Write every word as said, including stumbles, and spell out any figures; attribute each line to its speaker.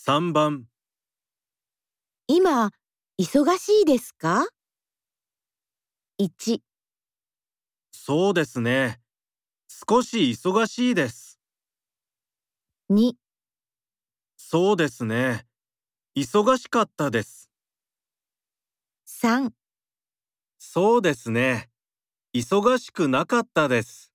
Speaker 1: さんばん、
Speaker 2: 今、忙しいですか？いち、
Speaker 1: そうですね。少し忙しいです。
Speaker 2: に、
Speaker 1: そうですね。忙しかったです。
Speaker 2: さん。
Speaker 1: そうですね。忙しくなかったです。